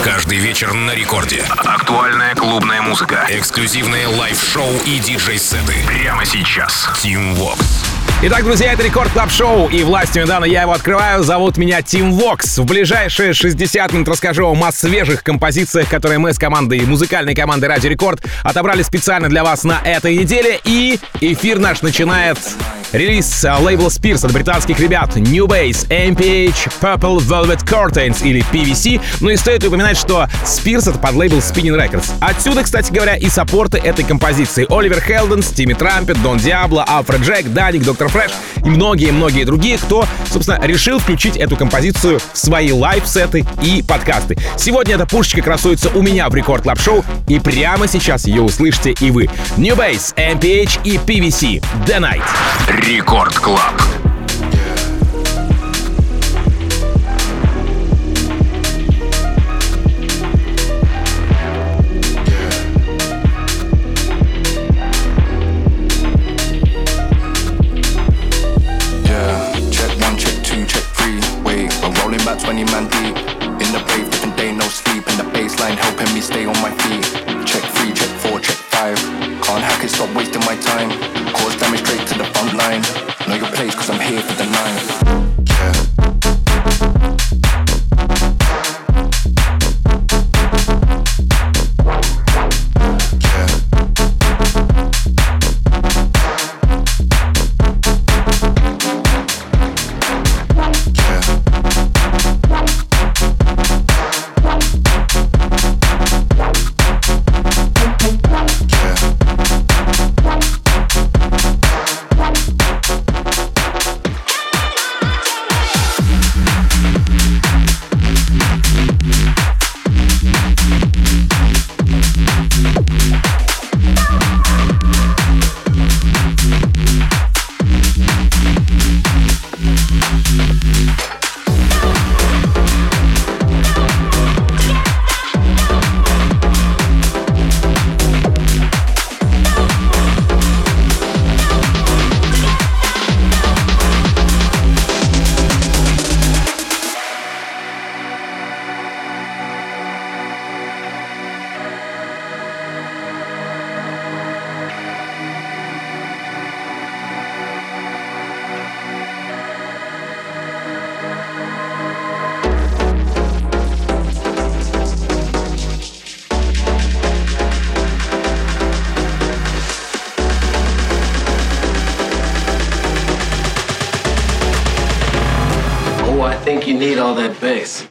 Каждый вечер на рекорде. Актуальная клубная музыка. Эксклюзивные лайв-шоу и диджей-сеты. Прямо сейчас. Team Vox. Итак, друзья, это Рекорд Клаб Шоу, и властью недавно я его открываю. Зовут меня Team Vox. В ближайшие 60 минут расскажу вам о свежих композициях, которые мы с командой, музыкальной командой Радио Рекорд отобрали специально для вас на этой неделе. И эфир наш начинает релиз лейбла Spears от британских ребят New Base, MPH, Purple Velvet Curtains или PVC. Ну и стоит упоминать, что Spears — это под лейбл Spinning Records. Отсюда, кстати говоря, и саппорты этой композиции. Оливер Хелденс, Тимми Трампет, Дон Диабло, Алфред Джек, Даник, Доктор Фреш и многие-многие другие, кто, собственно, решил включить эту композицию в свои лайв-сеты и подкасты. Сегодня эта пушечка красуется у меня в Рекорд Клаб Шоу, и прямо сейчас ее услышите и вы. New Base, MPH и PVC. The Night. Рекорд Клаб. About 20 man deep in the brave, different day, no sleep, and the baseline helping me stay on my feet. Check 3, check 4, check 5. Can't hack it, stop wasting my time. Cause damage straight to the front line. Know your place, cause I'm here for the night. You need all that bass.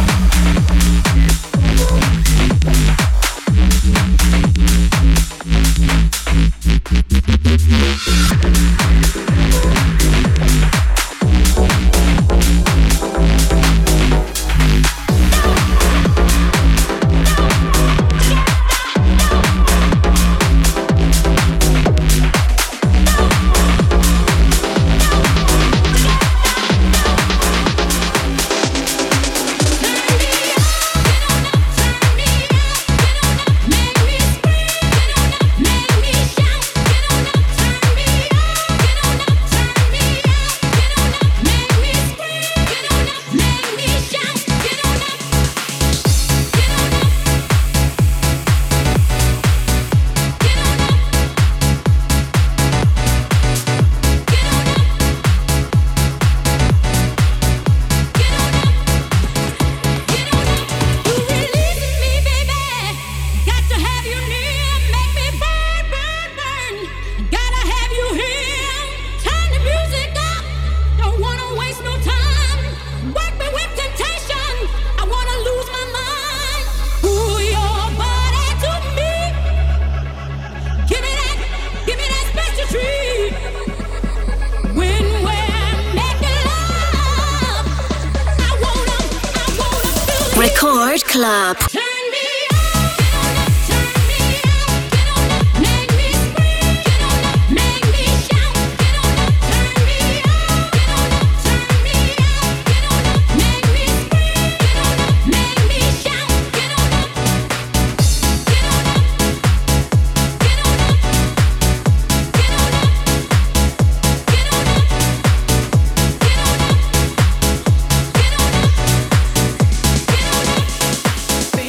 Record Club. Baby,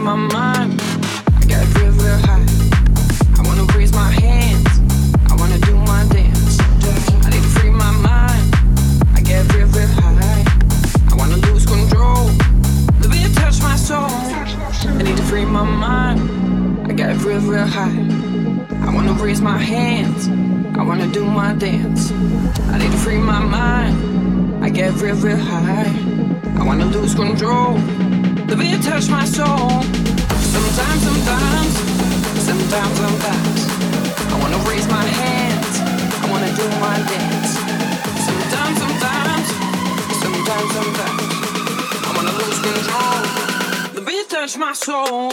my mind. I get real, real high. I wanna raise my hands. I wanna do my dance. I need to free my mind. I get real, real high. I wanna lose control. The beat touch my soul. I need to free my mind. I get real, real high. I wanna raise my hands. I wanna do my dance. I need to free my mind. I get real, real high. I wanna lose control. The beat touch my soul. Sometimes, sometimes, sometimes, sometimes I wanna raise my hands. I wanna do my dance. Sometimes, sometimes, sometimes, sometimes I wanna lose control. The beat touch my soul.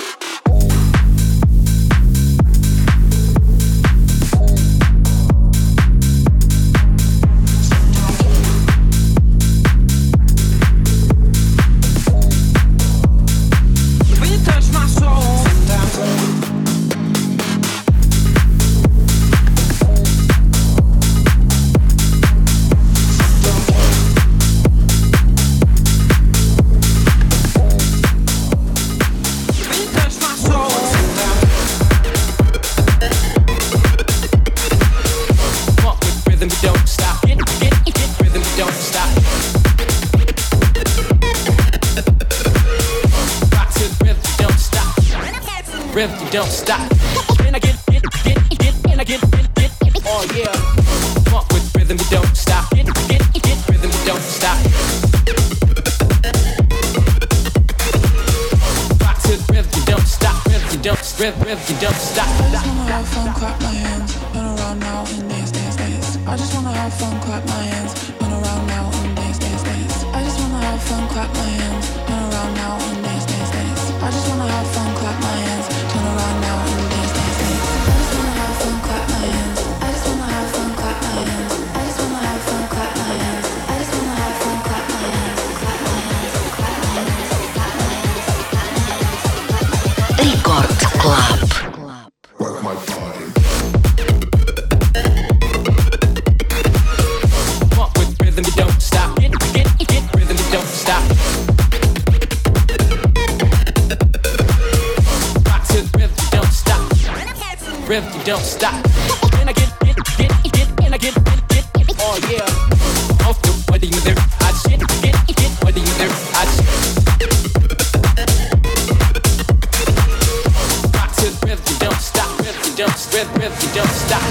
Rhythm, don't stop. And I get, and I get, oh yeah. Funk with rhythm, you don't stop. Get rhythm, you don't stop. Rock to the rhythm, you don't stop. Rhythm, you don't stop. I just wanna have fun, clap my hands, run around now and dance, dance, dance. I just wanna have fun, clap my hands, run around now and dance, dance, dance. I just wanna have fun, clap my hands, run around now and dance, dance, dance. I just wanna have fun, clap my hands, turn around now and dance, dance, dance. I just wanna have fun, clap my hands. I just wanna have fun, clap my hands. I just wanna have fun, clap my hands. I just wanna have fun, clap my hands. Clap my hands, clap my hands, clap my hands, clap my hands. Рекорд Клаб. Work my body. Funk with rhythm, you don't stop. Get rhythm, you don't stop. Rock to the rhythm, you don't stop. Rhythm, you don't stop. And I get, and I get, oh yeah. Off the body with her, I shit, get body with her, I shit. Rock to the rhythm, you don't stop. Rhythm, you don't stop.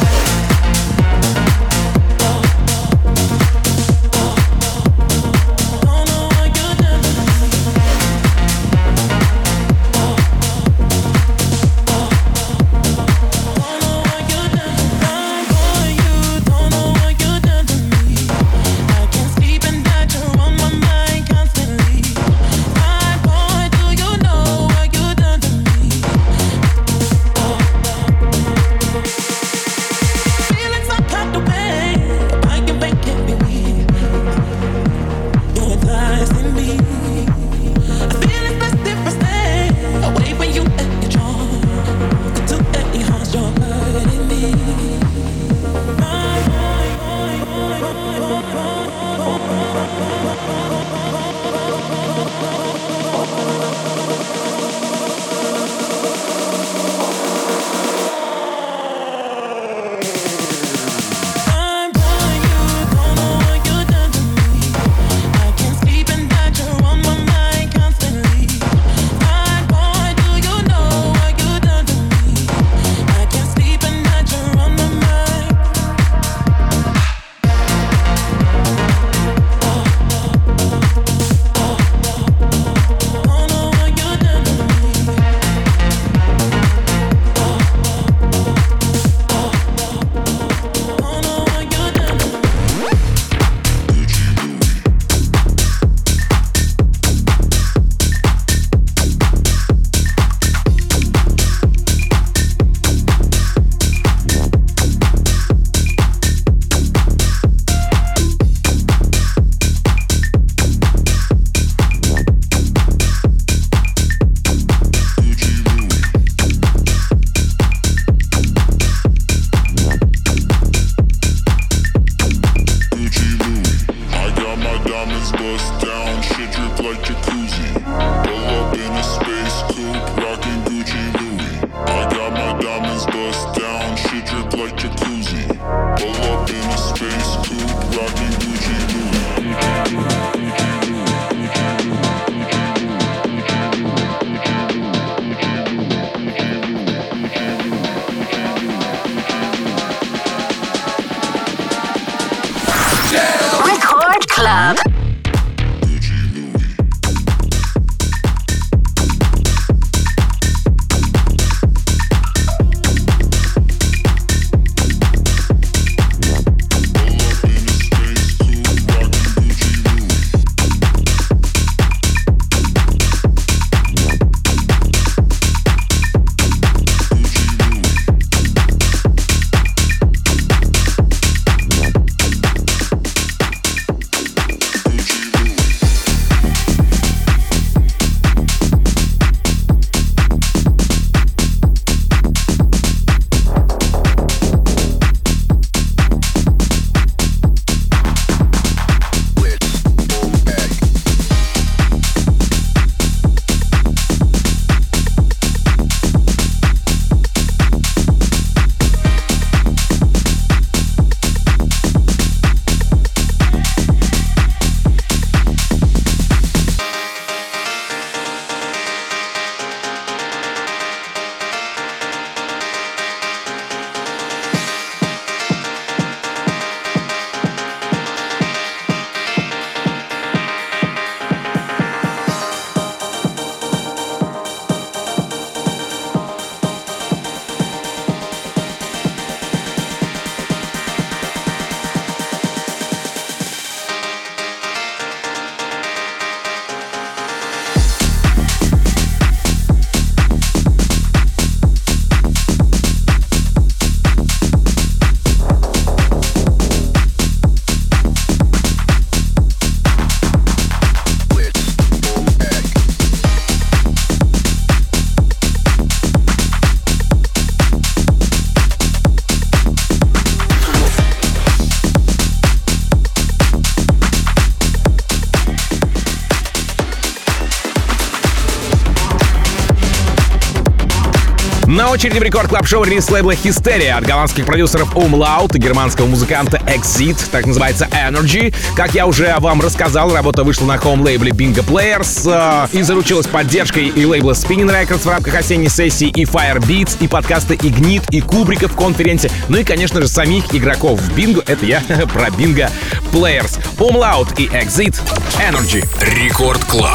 На очереди в Рекорд Клаб Шоу релиз лейбла Hysteria от голландских продюсеров Umlaut и германского музыканта Exit, так называется Energy. Как я уже вам рассказал, работа вышла на хоум-лейбле Bingo Players и заручилась поддержкой и лейбла Spinning Records в рамках осенней сессии, и Firebeats, и подкаста Ignit, и Кубрика в конференции, ну и, конечно же, самих игроков в Bingo. Это я про Bingo Players. Umlaut и Exit Energy. Рекорд Клаб.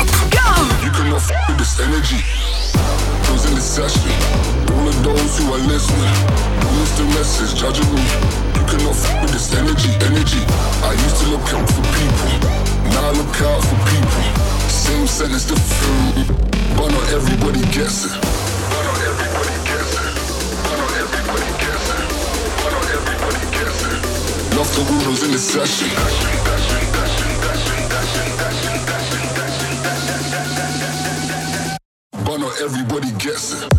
In the session, all of those who are listening, use the message, judging me. You cannot fuck with this energy. I used to look out for people, now I look out for people. Same sentence, different, but not everybody gets it. Love the rules in the session. But not everybody gets it.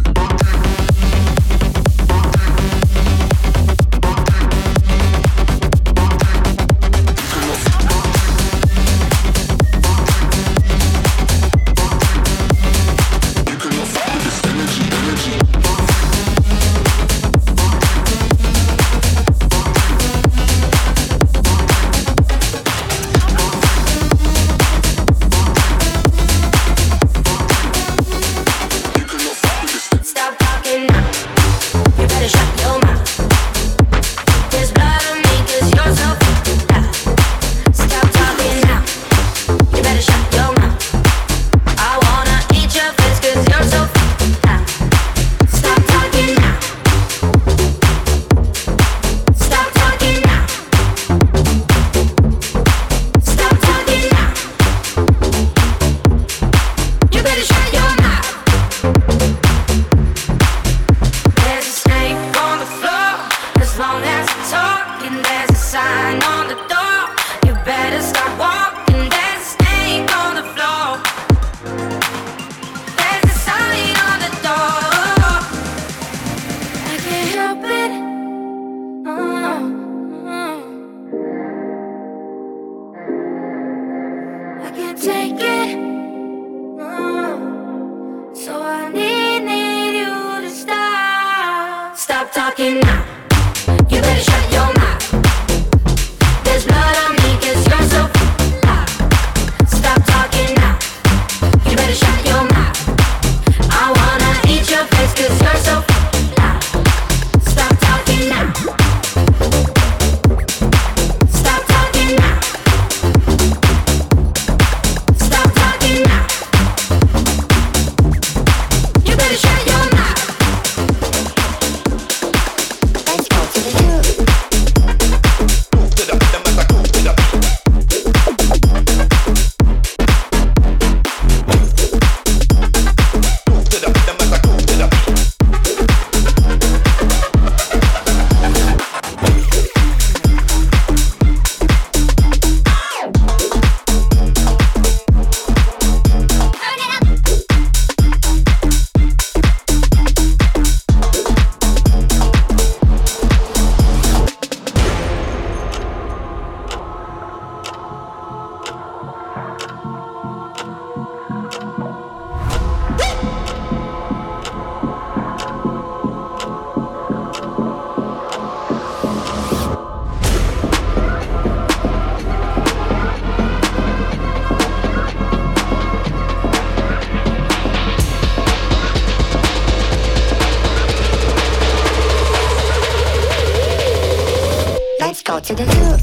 To the hood.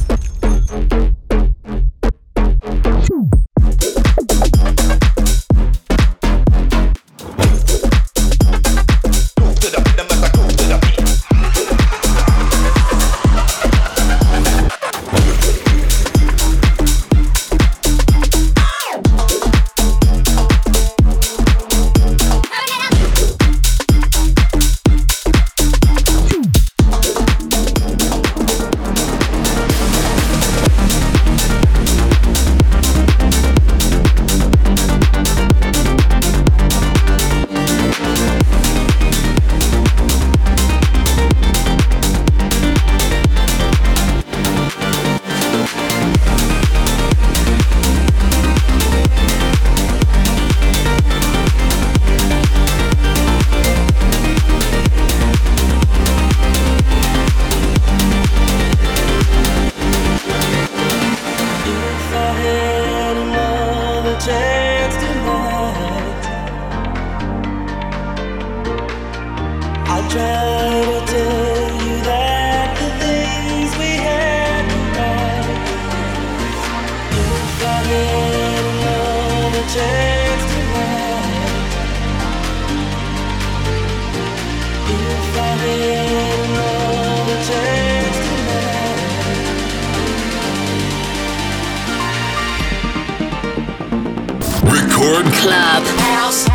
Record Club. House.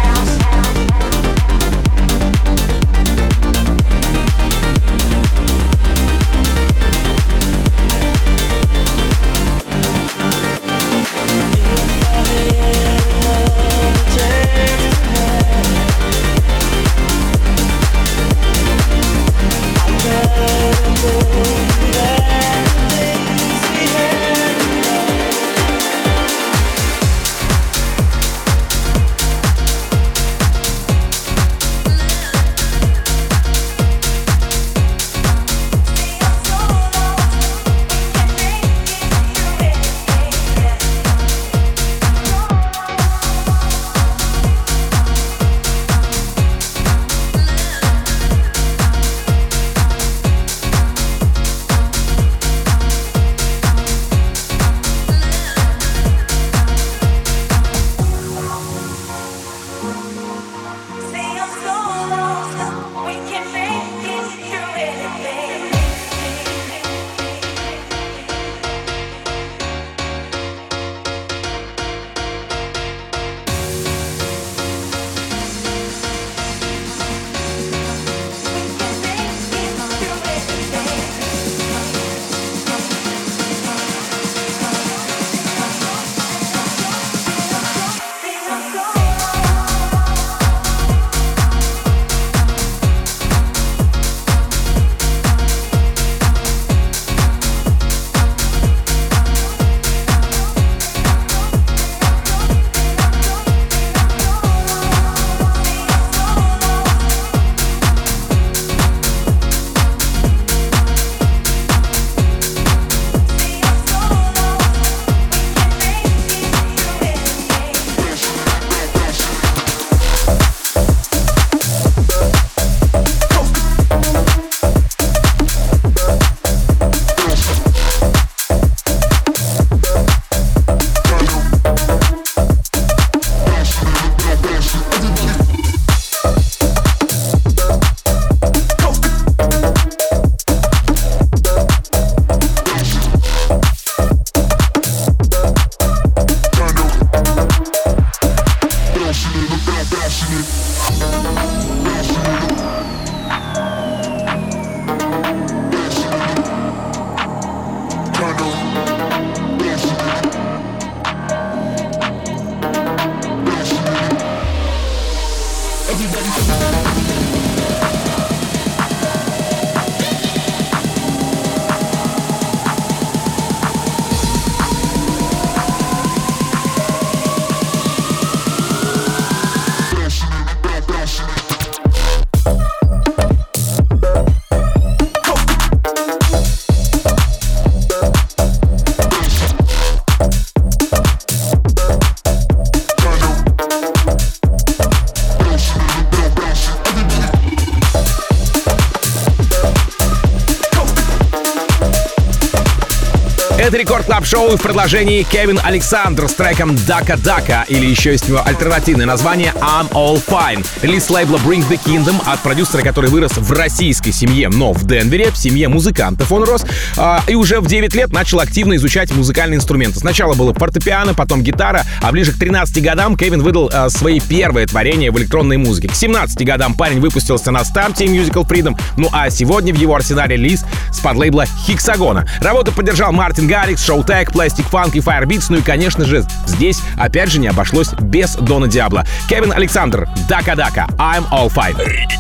Это Рекорд Клаб Шоу в продолжении Кевин Александр с треком Дака Дака, или еще есть у него альтернативное название I'm All Fine. Релиз лейбла Bring the Kingdom от продюсера, который вырос в российской семье, но в Денвере, в семье музыкантов он рос, и уже в 9 лет начал активно изучать музыкальные инструменты. Сначала было фортепиано, потом гитара, а ближе к 13 годам Кевин выдал свои первые творения в электронной музыке. К 17 годам парень выпустился на старте Musical Freedom, ну а сегодня в его арсенале релиз с подлейбла Hexagon. Работу поддержал Мартин Гаррикс, Showtek, Plastic Funk и Firebeats, ну и, конечно же, здесь опять же не обошлось без Дона Диабло. Кевин Александр, Дака Дака, I'm All Fine.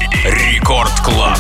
Рекорд Клаб.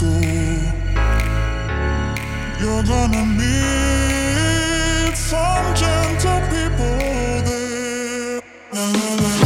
school. You're gonna meet some gentle people there. La, la, la, la.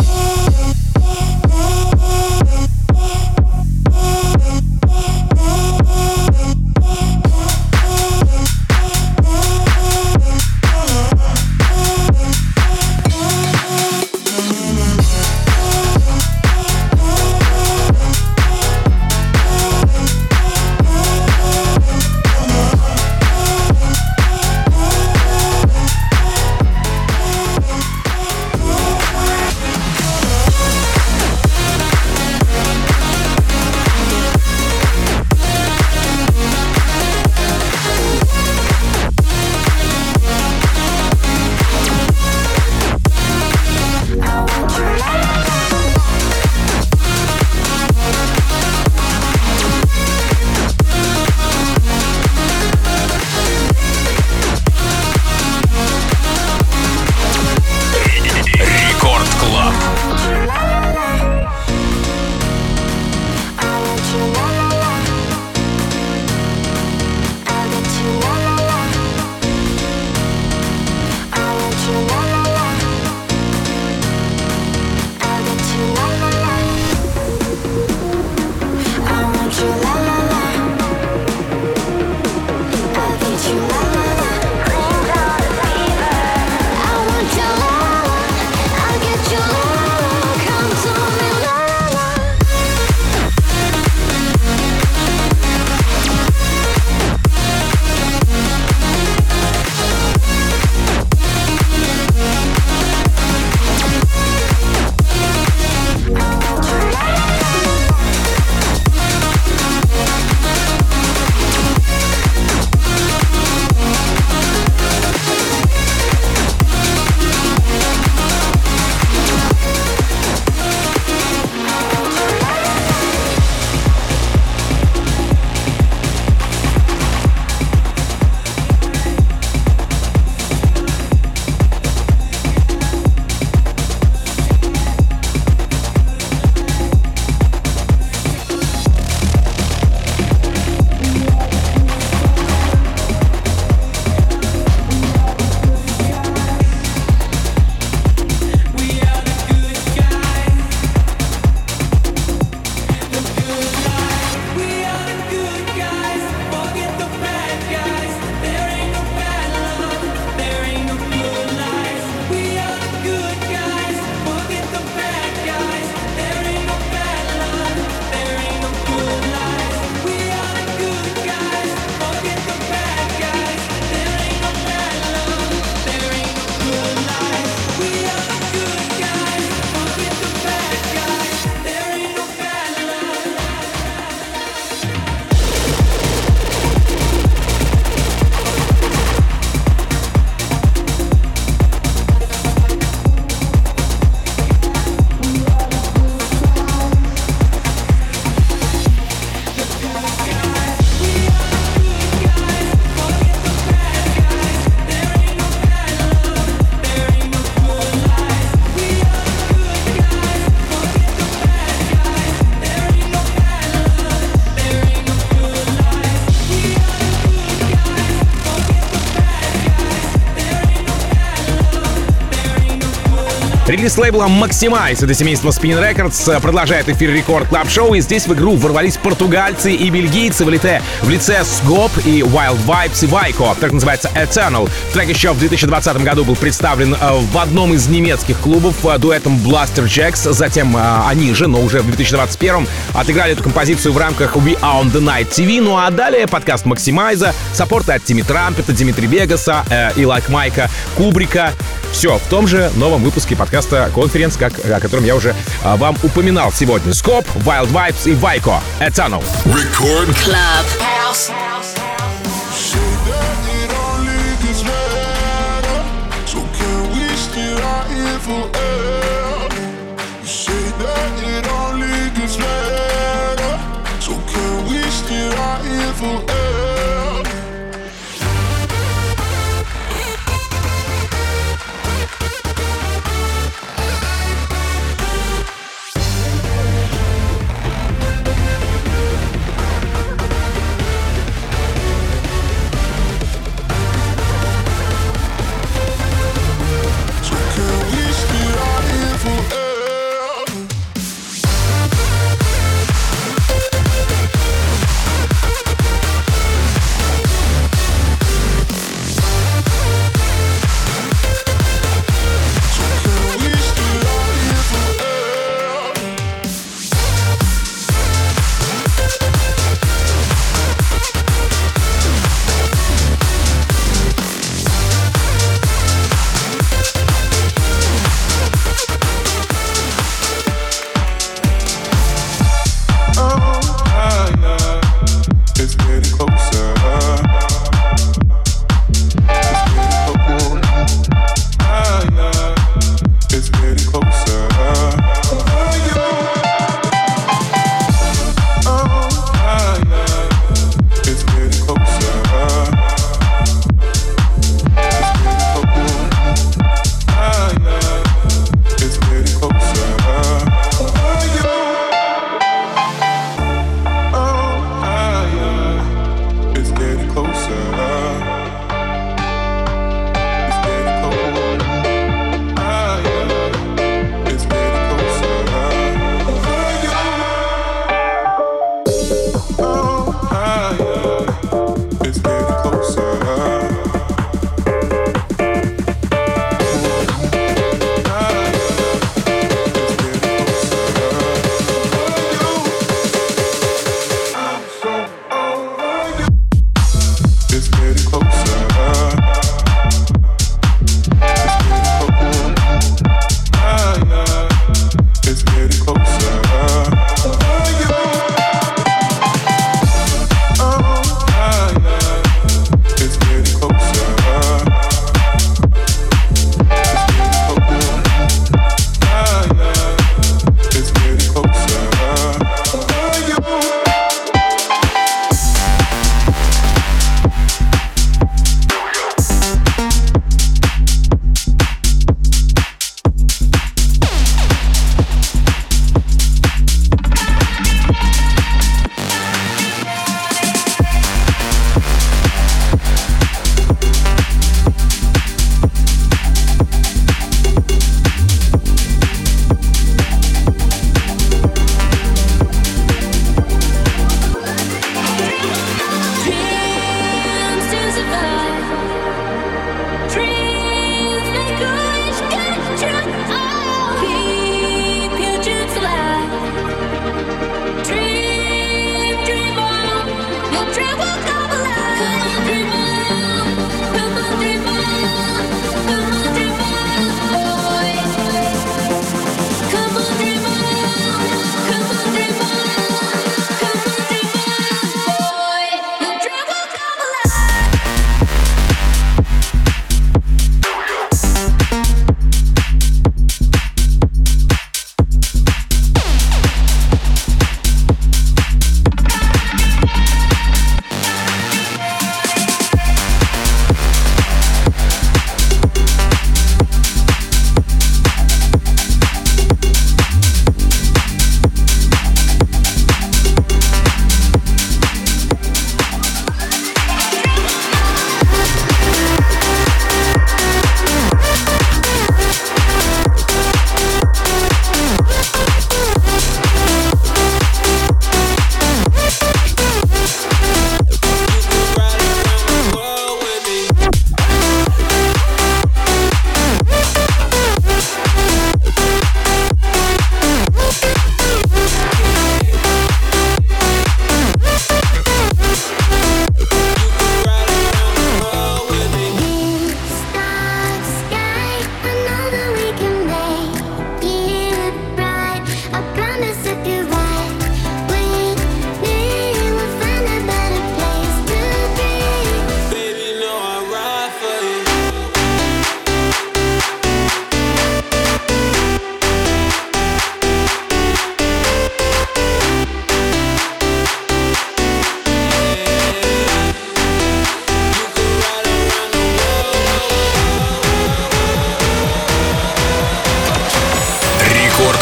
Релиз лейбла Maximize, это семейство Spin Records, продолжает эфир Рекорд Клаб Шоу, и здесь в игру ворвались португальцы и бельгийцы в лице Skop и Wild Vibes и Vico. Трек называется Eternal. Трек еще в 2020 году был представлен в одном из немецких клубов дуэтом Blaster Jacks, затем они же, но уже в 2021 отыграли эту композицию в рамках We Are On The Night TV, ну а далее подкаст Maximize, саппорты от Тимми Трампета, Дмитрия Вегаса и Like Майка Кубрика. Все в том же новом выпуске подкаста «Конференц», о котором я уже вам упоминал сегодня. Skop, Wild Vibes и Vico. Eternal. Record Club.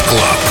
Club.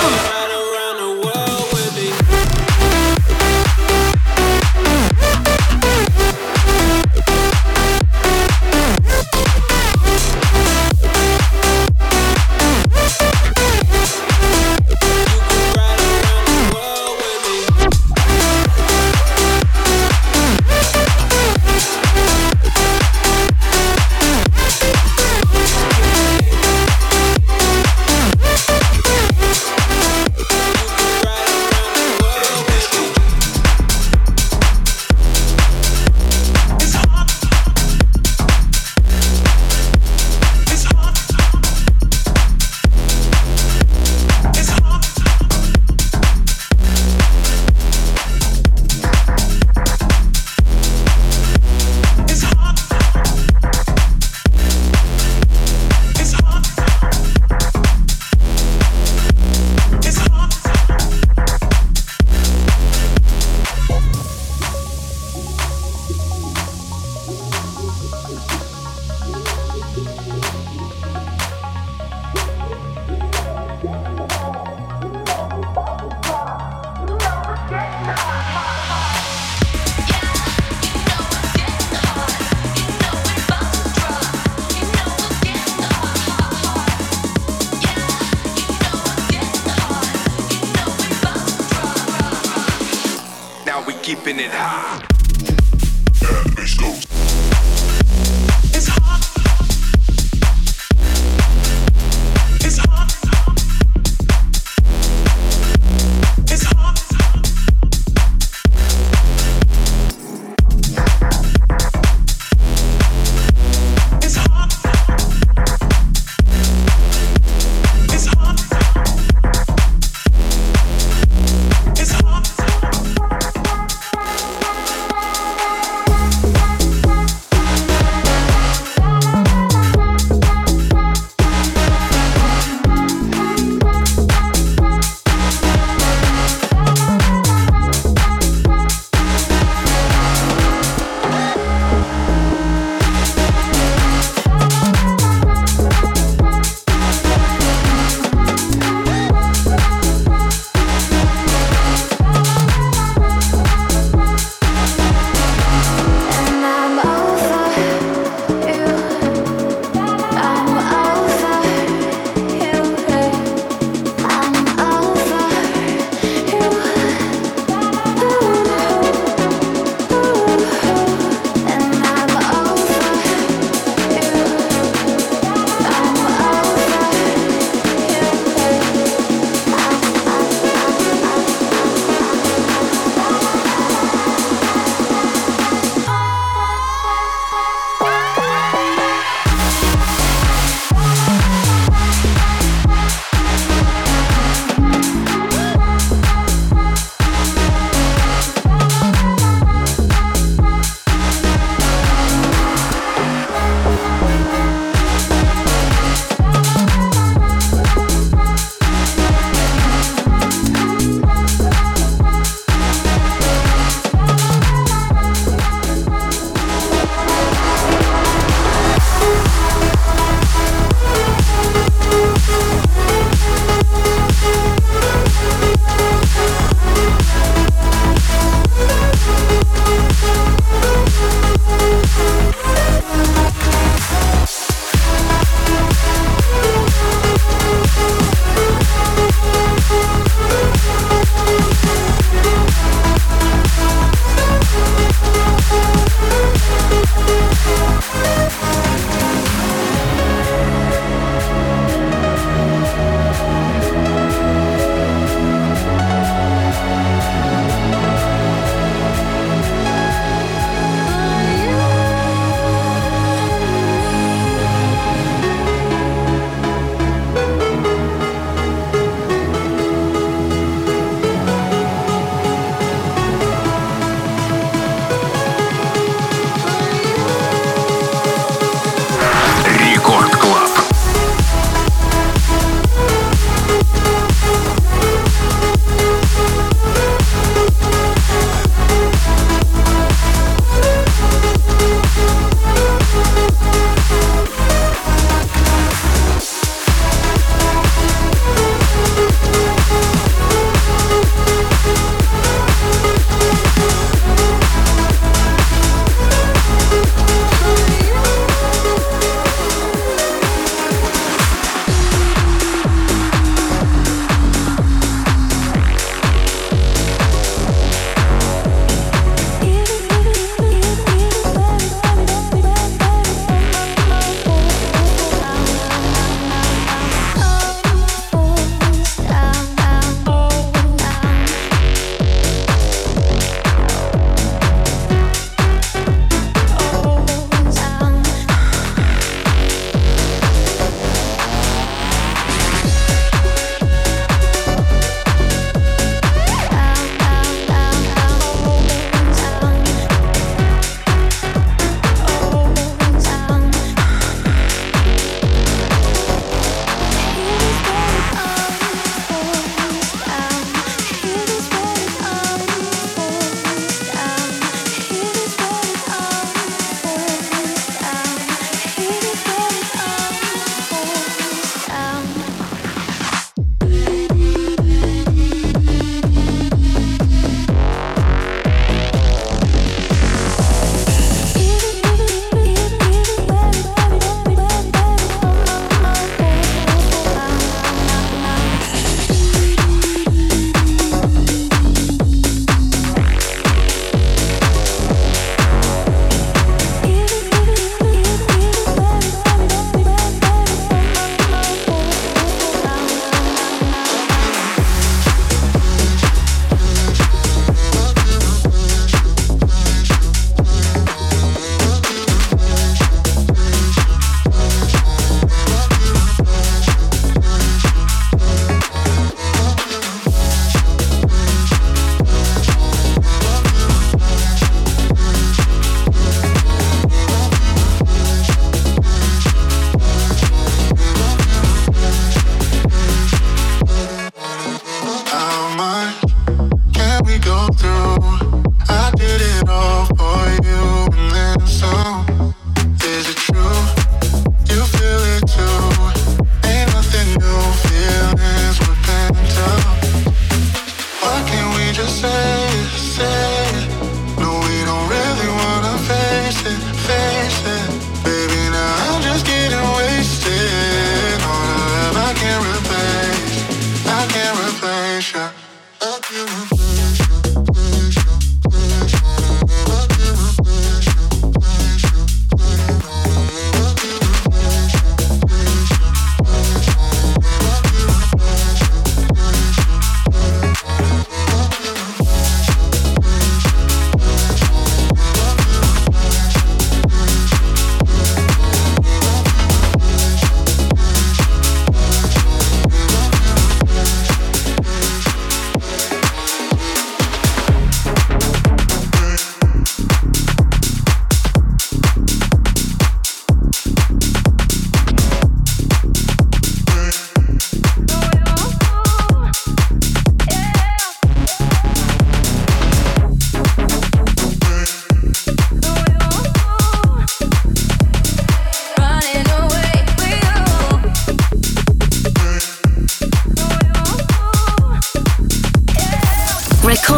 Keeping it high.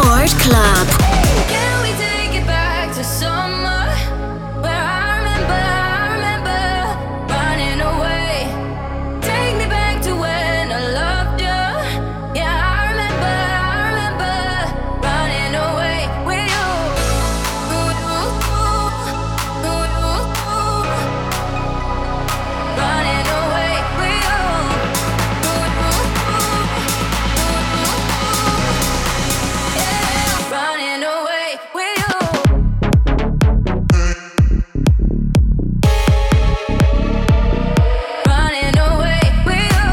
Record Club. Can we take it back to summer where I remember running away? Take me back to when I loved you. Yeah, I remember running away with you. Running away with you. Running away with you. Running away with you.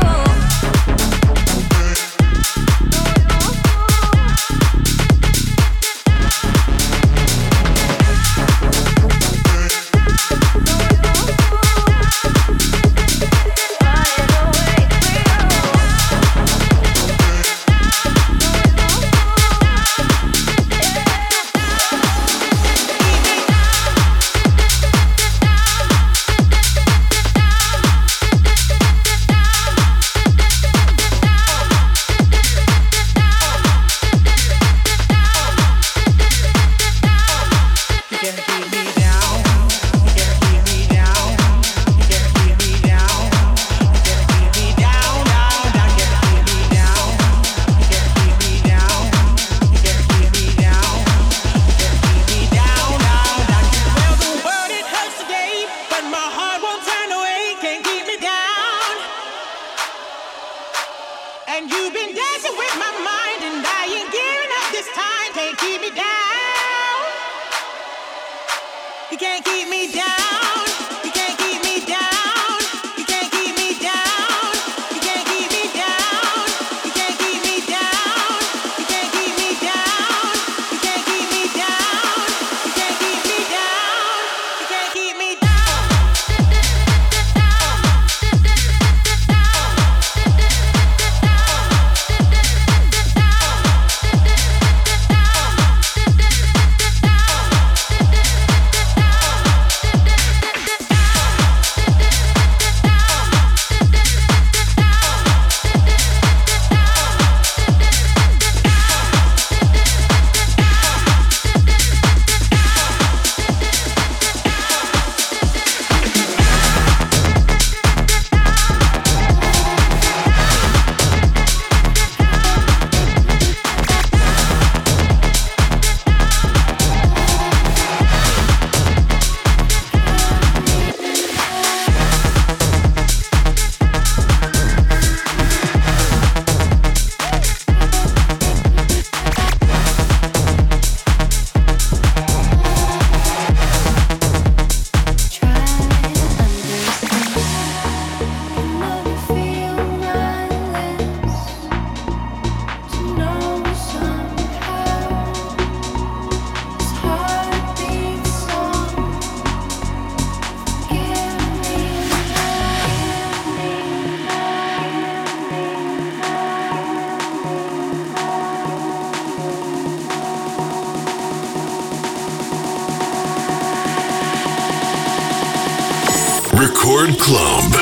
Record Club.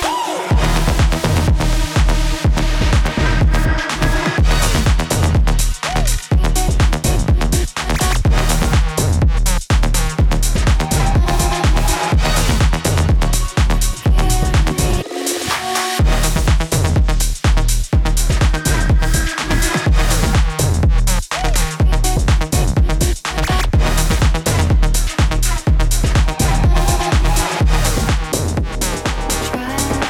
Try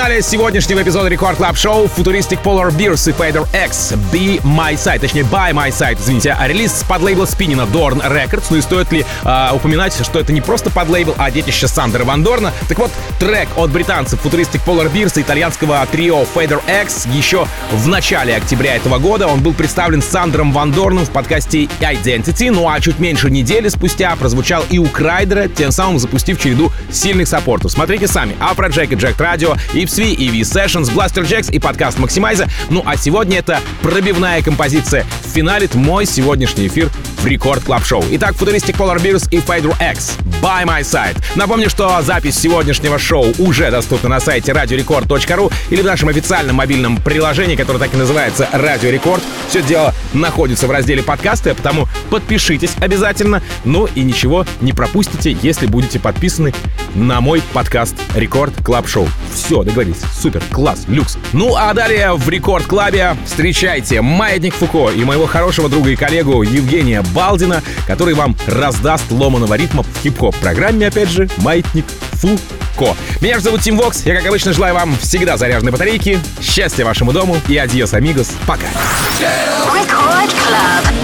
финале сегодняшнего эпизода Рекорд Клаб Шоу Futuristic Polar Bears и Fader X Be My Side, точнее By My Side, извините, релиз под лейбла Спиннина Dorn Records. Ну и стоит ли упоминать, что это не просто под лейбл, а детище Сандера Ван Дорна. Так вот, трек от британцев Futuristic Polar Bears и итальянского трио Fader X еще в начале октября этого года он был представлен Сандером Ван Дорном в подкасте Identity, ну а чуть меньше недели спустя прозвучал и у Крайдера, тем самым запустив череду сильных саппортов. Смотрите сами: Afrojack и Jacked Radio, Ipswich и V-Sessions, Blaster Jacks и подкаст Maximize. Ну а сегодня это пробивная композиция финалит мой сегодняшний эфир в Рекорд Клаб Шоу. Итак, Futuristic Polar Bears и Fader X By My Side. Напомню, что запись сегодняшнего шоу уже доступна на сайте radiorecord.ru или в нашем официальном мобильном приложении, которое так и называется Радио Рекорд. Все дело находится в разделе подкасты, потому подпишитесь обязательно. Ну и ничего не пропустите, если будете подписаны на мой подкаст Рекорд Клаб Шоу. Все, договорились. Супер, класс, люкс. Ну а далее в Рекорд Клабе встречайте Маятник Фуко и моего хорошего друга и коллегу Евгения Балдина, который вам раздаст ломаного ритма в хип-хоп программе, опять же, Маятник Фуко. Меня же зовут Тим Вокс. Я, как обычно, желаю вам всегда заряженной батарейки, счастья вашему дому и адьос, амигос. Пока. Record Club.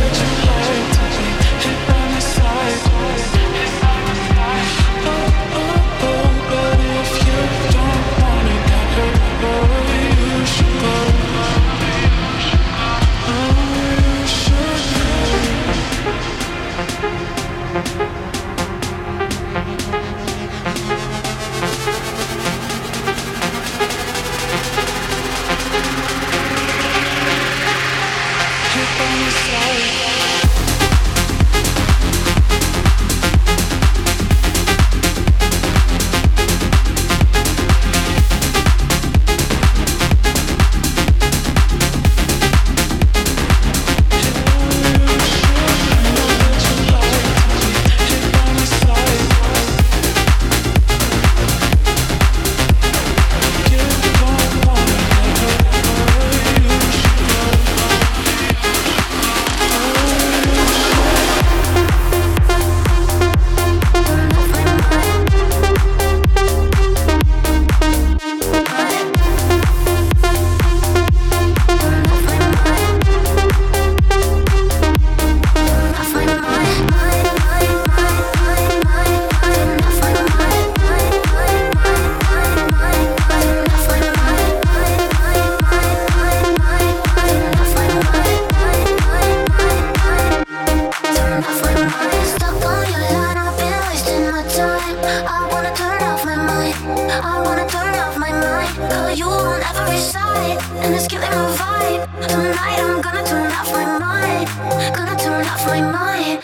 And it's killing my vibe. Tonight I'm gonna turn off my mind. Gonna turn off my mind.